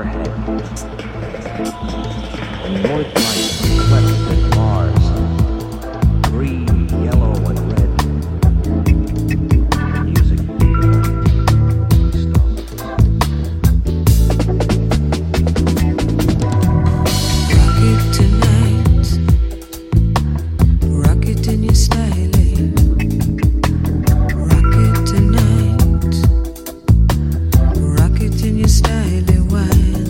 overhead. The north lights reflected Mars, green, yellow, and red. Music stop. Rocket tonight, rocket in your styling. Rocket tonight, rocket in your styling wine.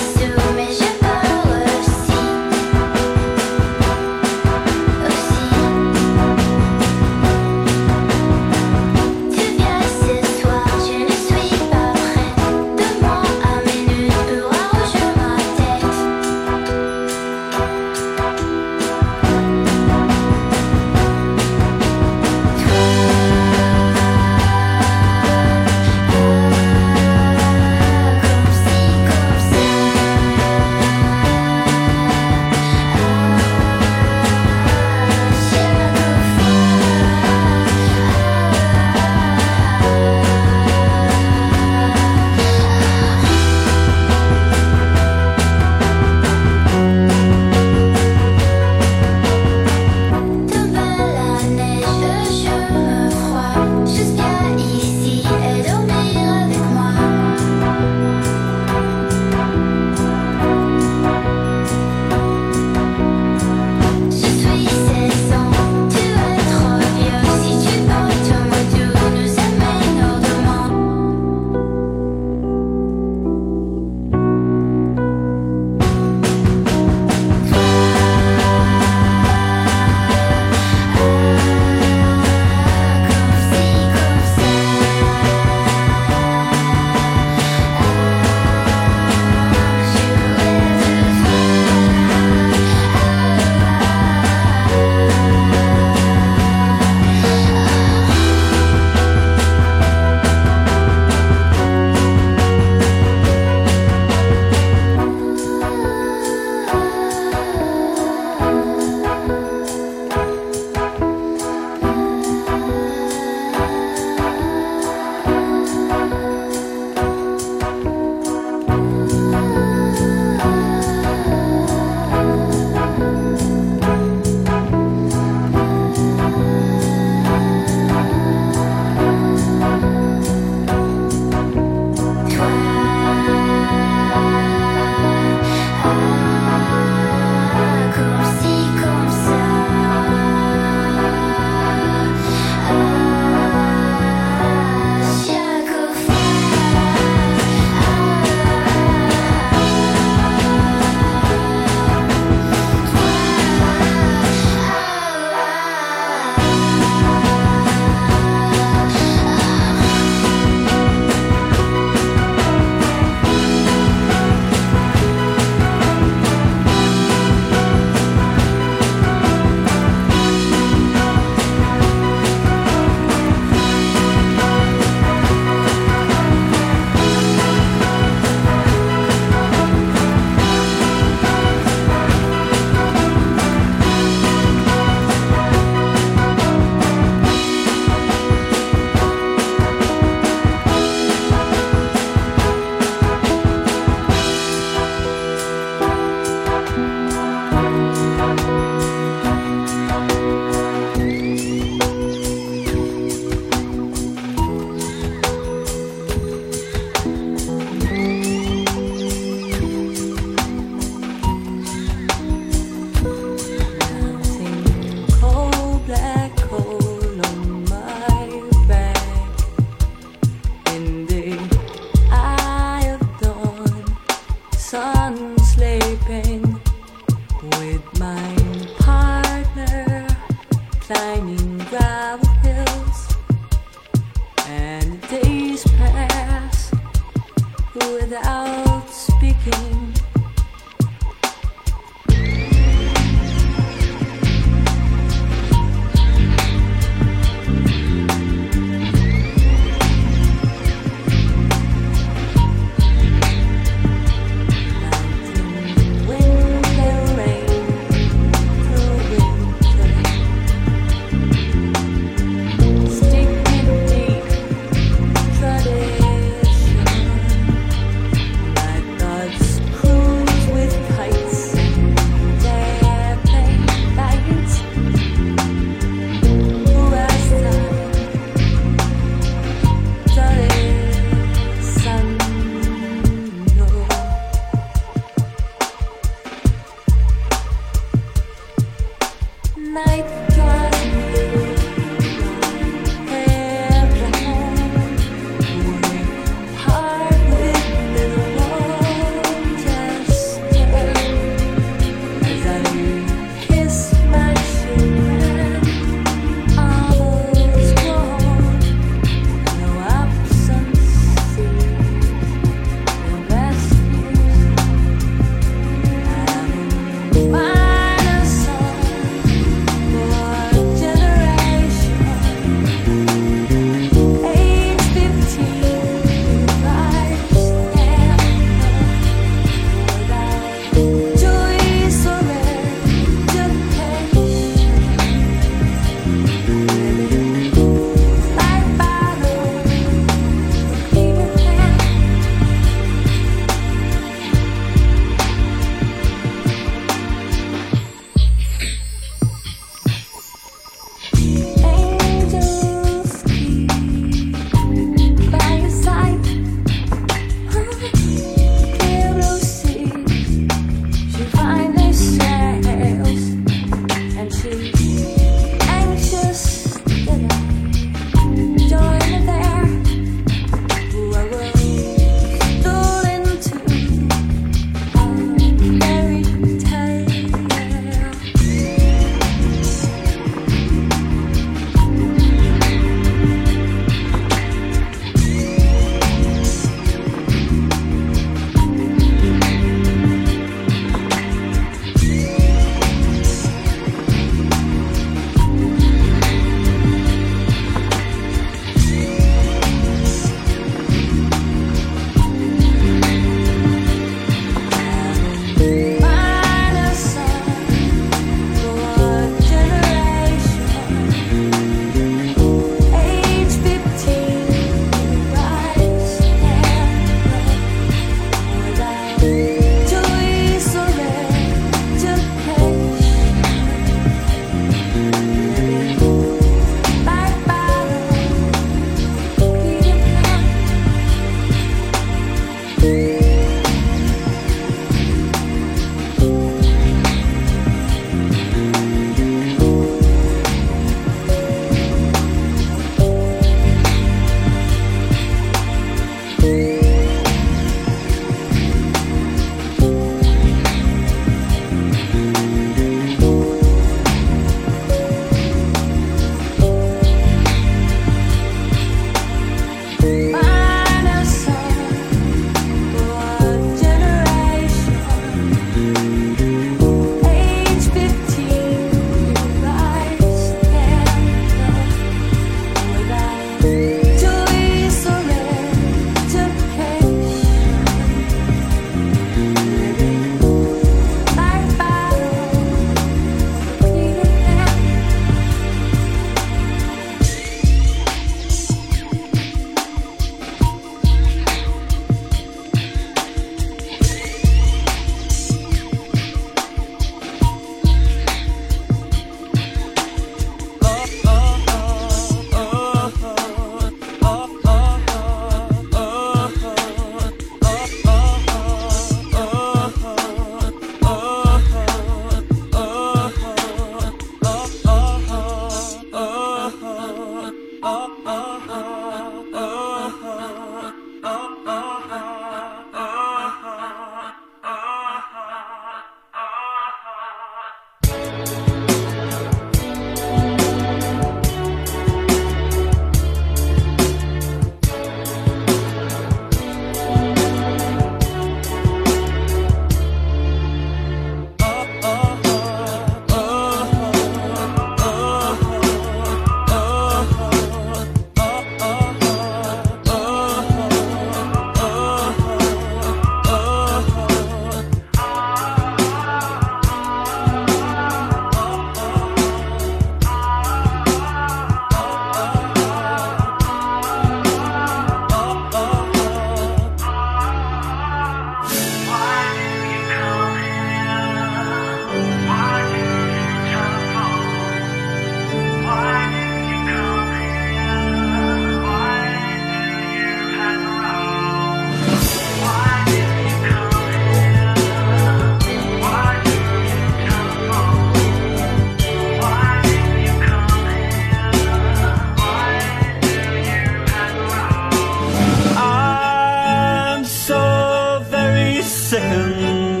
sickened.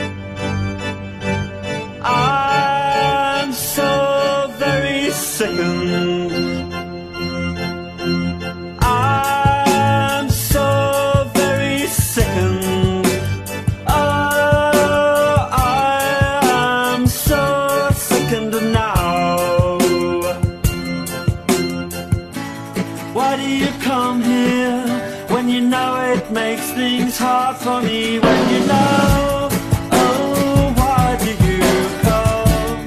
I'm so very sickened. I'm so very sickened. Oh, I'm so sickened now. Why do you come here when you know it makes things hard for me? When you know, oh, why do you come?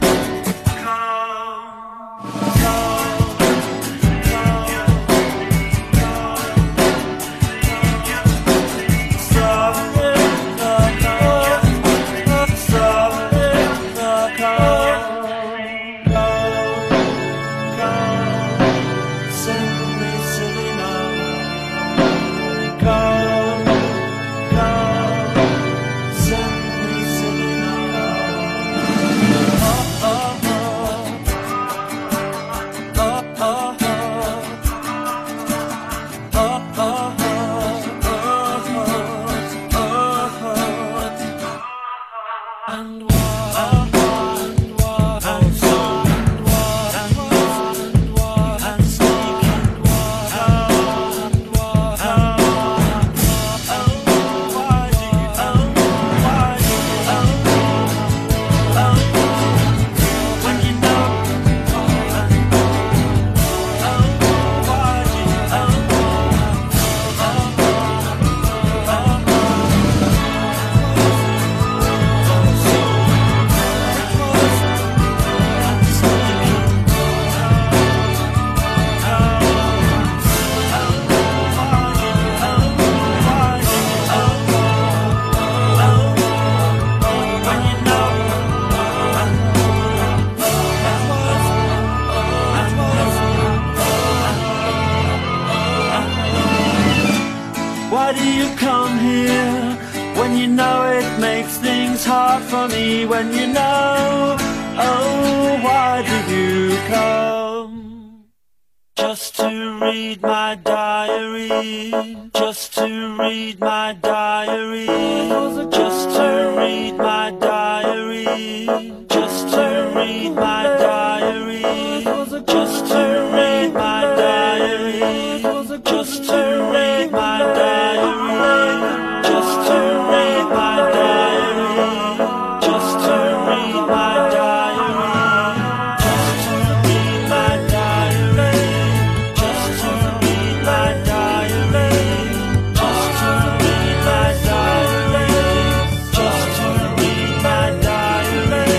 Why do you come here when you know it makes things hard for me? When you know, oh, why do you come? Just to read my diary, just to read my diary, just to read my diary, just to read my diary, just to read my diary, just to read my diary, just to read my diary, just to read my diary, just to read my diary, just to read my diary, just to read my diary, just to read my diary.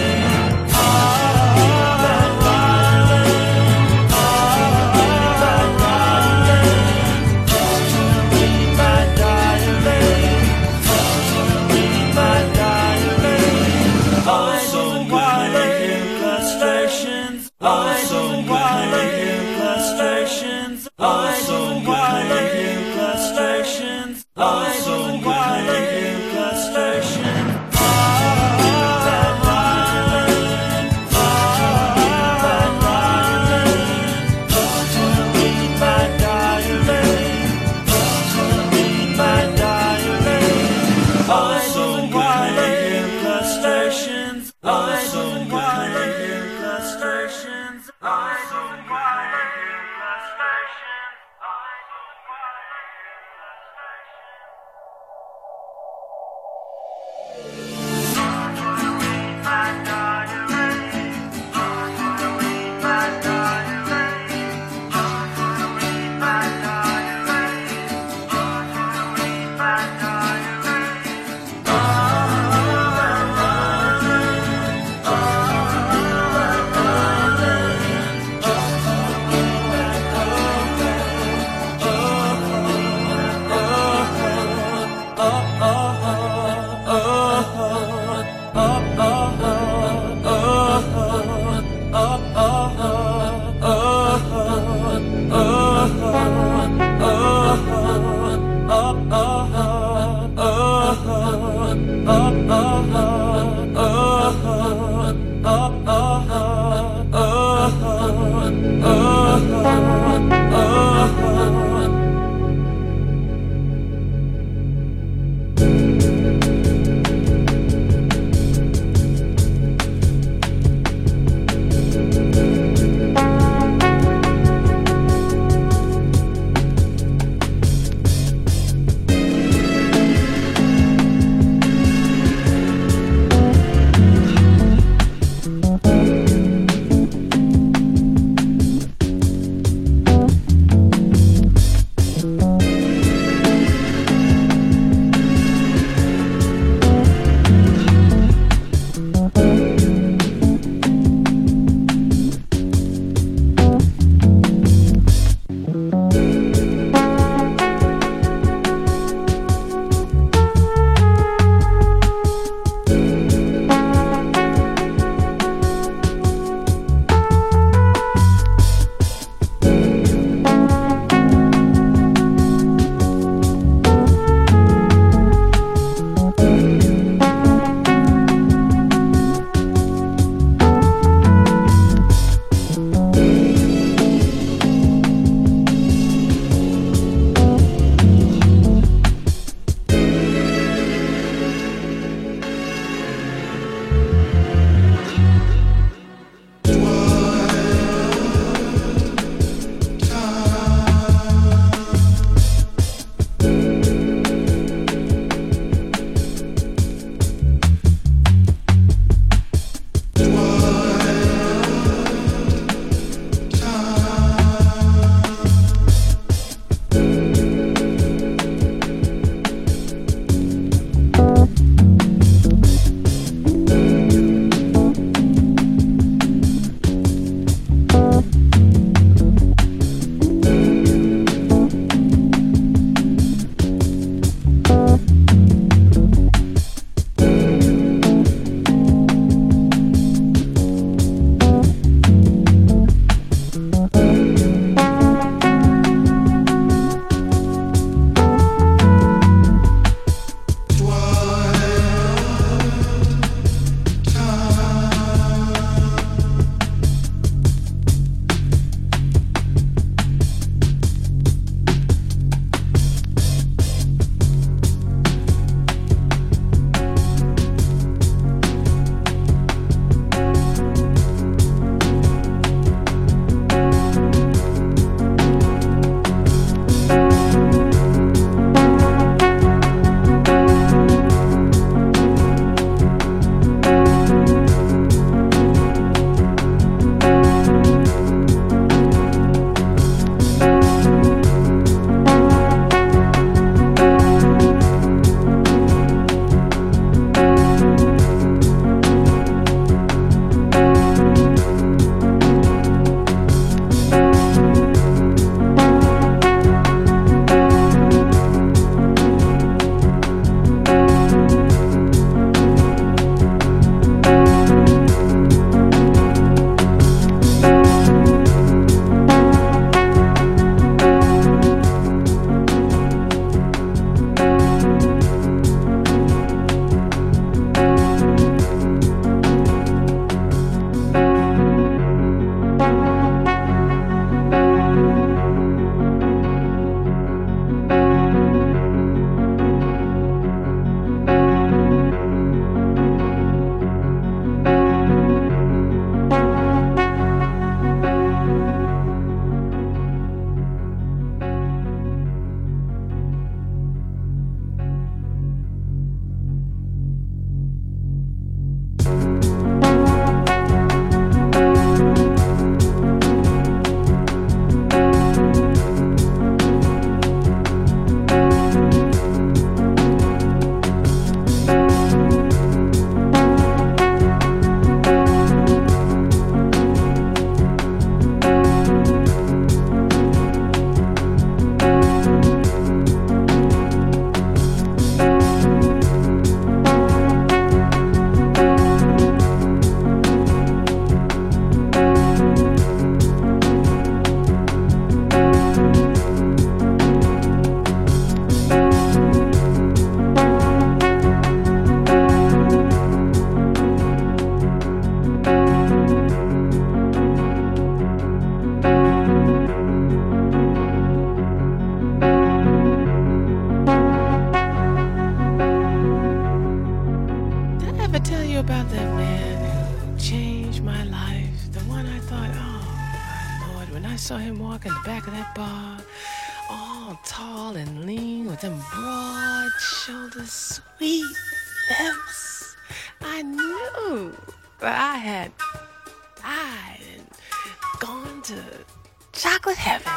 tell you about that man who changed my life? The one I thought, oh my Lord, when I saw him walk in the back of that bar, all tall and lean with them broad shoulders, sweet lips, I knew that I had died and gone to chocolate heaven.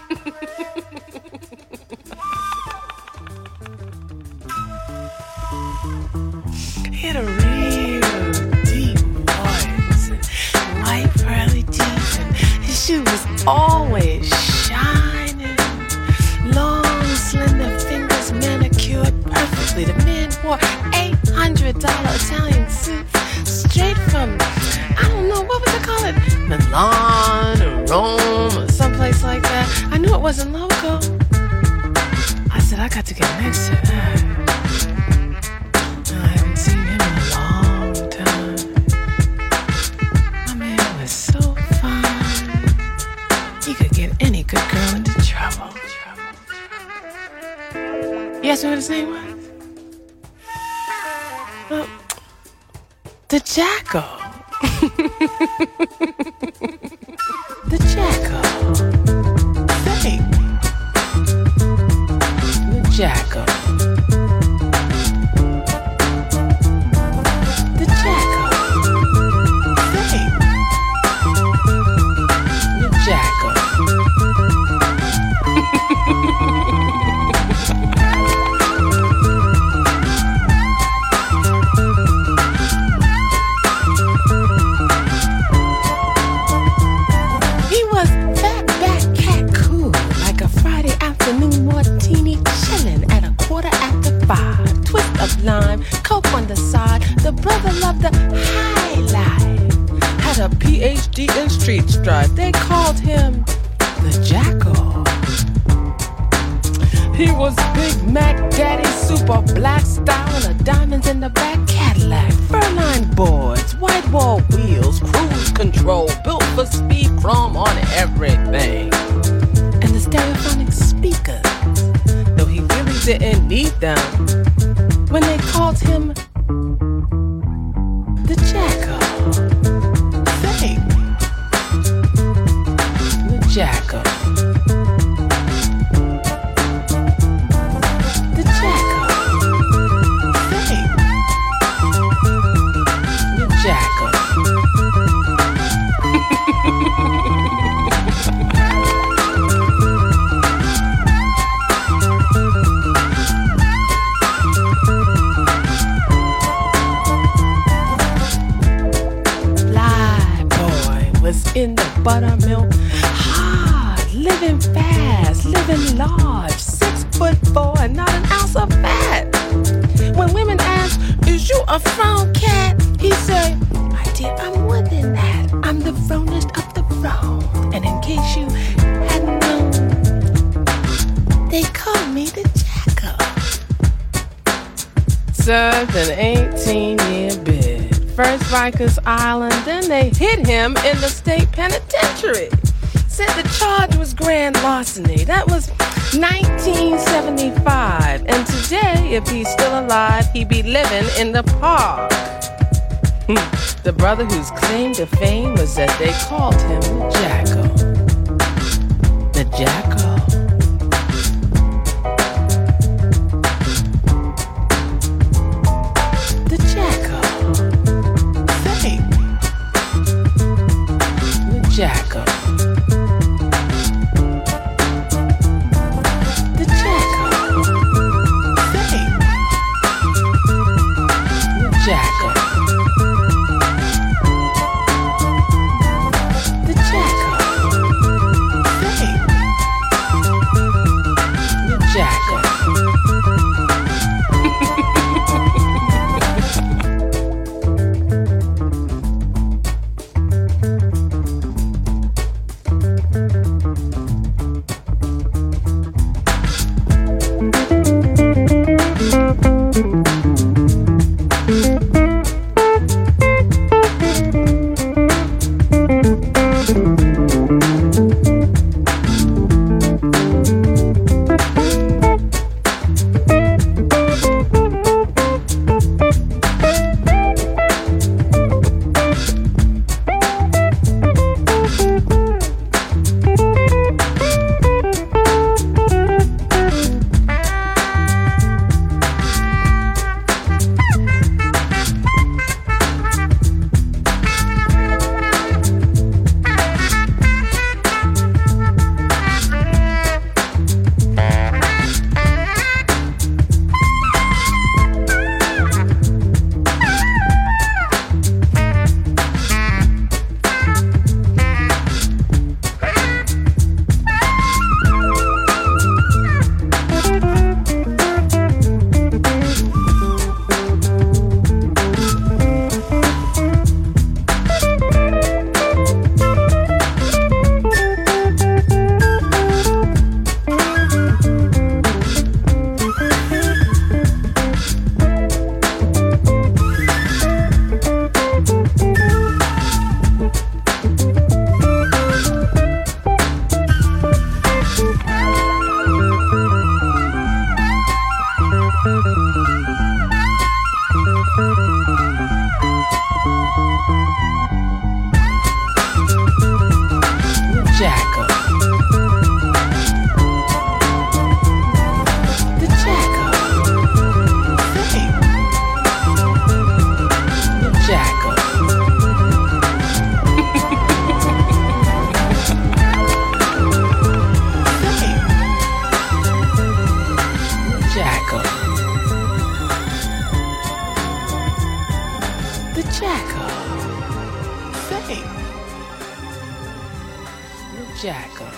He had a real deep voice and white pearly teeth, and his shoe was always shining. Long, slender fingers manicured perfectly. The man wore $800 Italian suits straight from, I don't know, what would they call it? Milan or Rome or someplace like that. I knew it wasn't local. I said, I got to get next to that. I haven't seen him in a long time. My man was so fine. He could get any good girl into trouble. You asked me what his name was? Well, the Jackal. The Jackal. Hey. The Jackal. The Jackal. Hey. The Jackal. Lime, coke on the side. The brother loved the high life. Had a PhD in street strife. They called him the Jackal. He was Big Mac Daddy, super black style, and the diamonds in the back Cadillac. Furline boards, white wall wheels, cruise control, built for speed, chrome on everything. And the stereophonic speakers, though he really didn't need them, when they called him the Jackal. Say, the Jackal. The Jackal. Say, the Jackal. In the buttermilk, hard, living fast, living large, 6'4" and not an ounce of fat. When women ask, is you a frown cat? He say, my dear, I'm more than that. I'm the fronest of the frown. And in case you hadn't known, they call me the Jackal. Served an 18-year bid. First Rikers Island, then they hit him in the state penitentiary. Said the charge was grand larceny. That was 1975. And today, if he's still alive, he'd be living in the park. The brother whose claim to fame was that they called him the Jackal. The Jackal. Jackal. The Jackal. Say. The Jackal. The Jackal. Say. the jacker. Say, the jacker.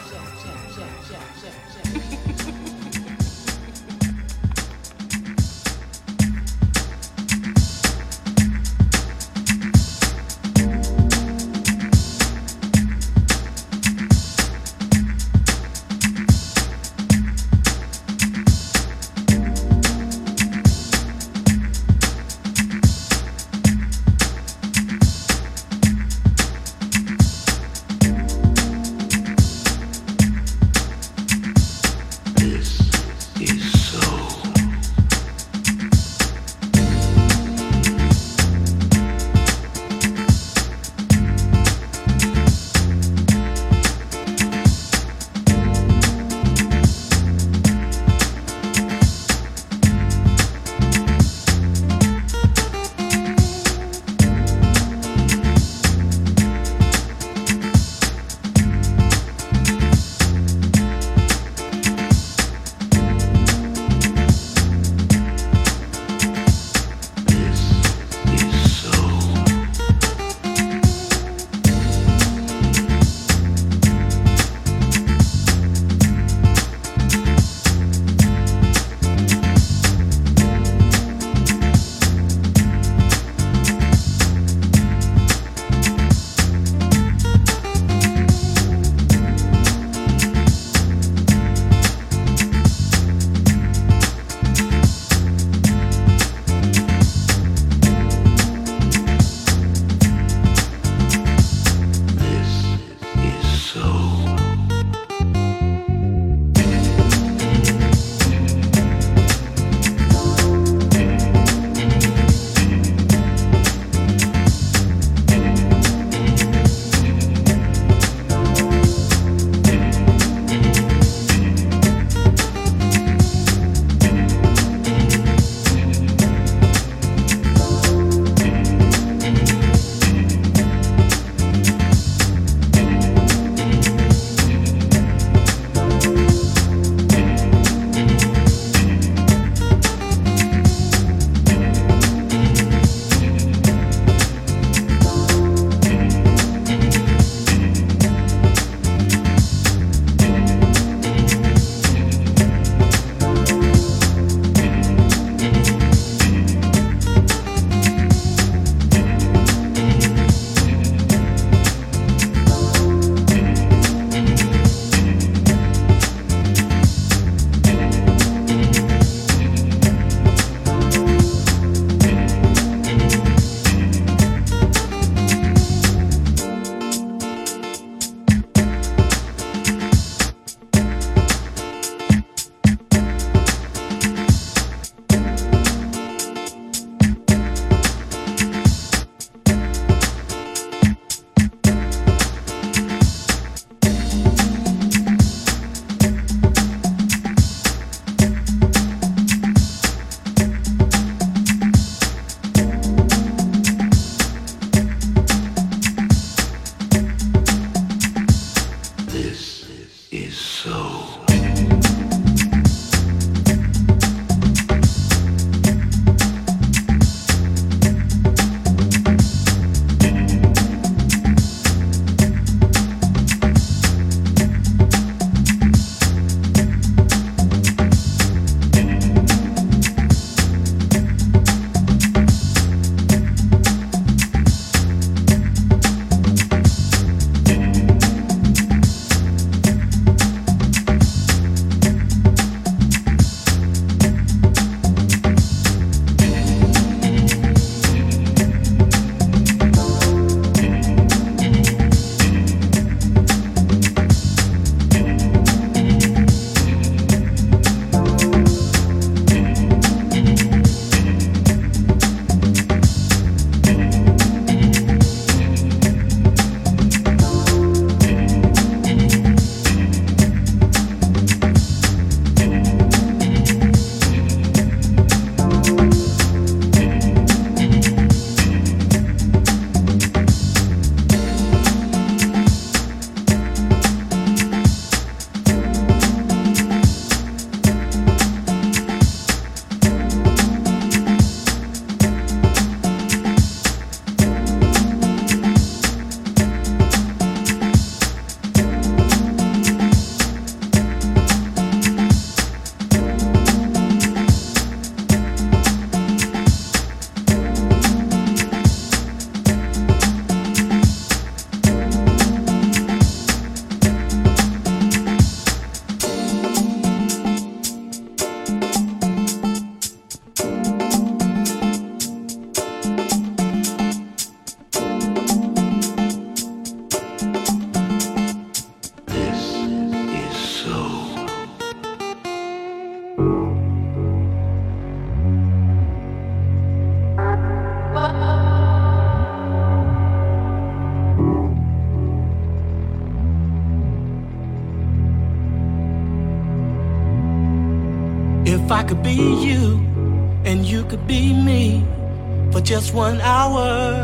If I could be you and you could be me for just 1 hour,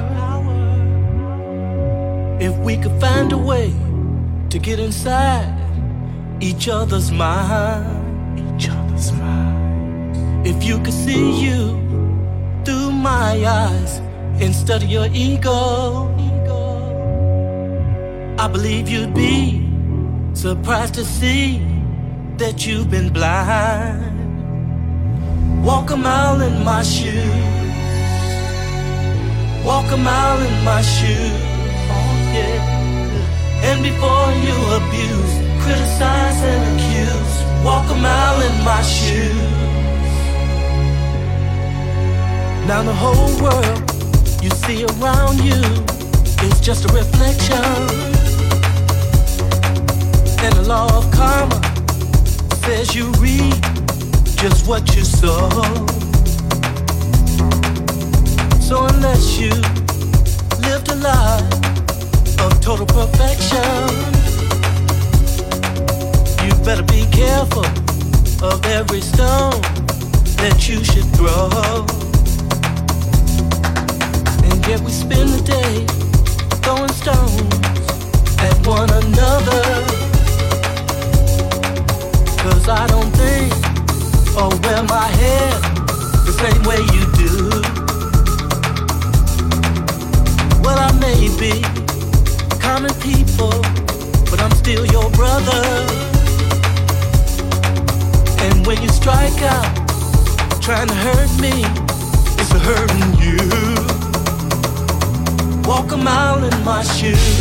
if we could find a way to get inside each other's mind, if you could see you through my eyes instead of your ego, I believe you'd be surprised to see that you've been blind. Walk a mile in my shoes, walk a mile in my shoes, oh yeah. And before you abuse, criticize and accuse, walk a mile in my shoes. Now the whole world you see around you is just a reflection, and the law of karma says you reap just what you sow. So unless you lived a life of total perfection, you better be careful of every stone that you should throw. And yet we spend the day throwing stones at one another, 'cause I don't think or wear my hair the same way you do. Well, I may be common people, but I'm still your brother. And when you strike out trying to hurt me, it's hurting you. Walk a mile in my shoes,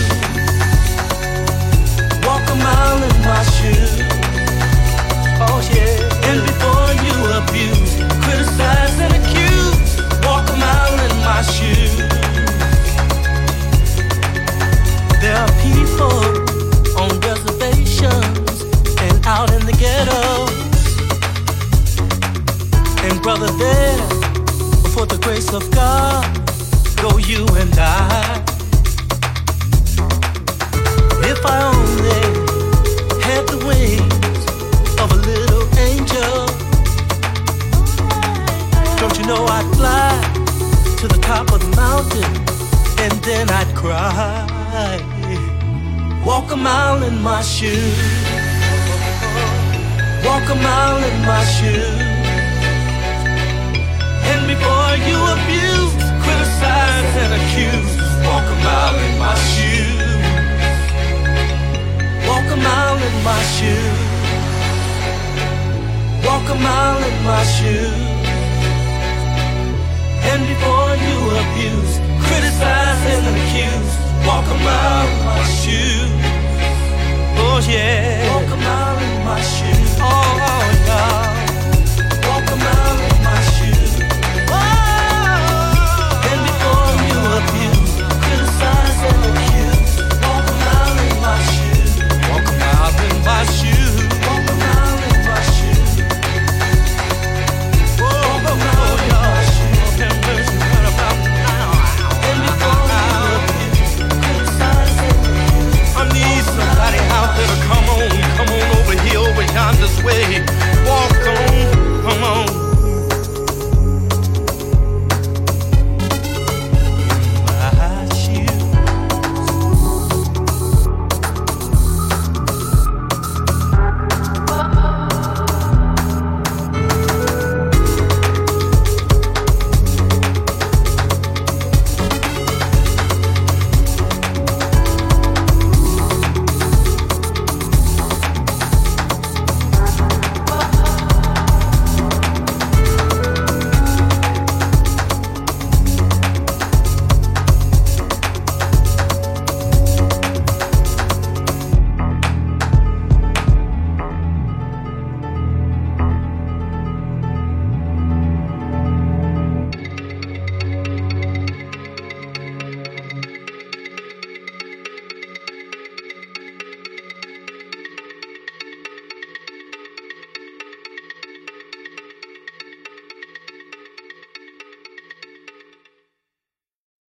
walk a mile in my shoes, oh yeah. And before you abuse, criticize and accuse, walk a mile in my shoes. There are people on reservations and out in the ghettos, and brother, there before the grace of God go you and I. If I only had the wings of a little angel, don't you know I'd fly to the top of the mountain and then I'd cry. Walk a mile in my shoes, walk a mile in my shoes. And before you abuse, criticize and accuse, walk a mile in my shoes, walk a mile in my shoes, walk a mile in my shoes. And before you abuse, criticize and accuse, walk a mile in my shoes, oh yeah. Walk a mile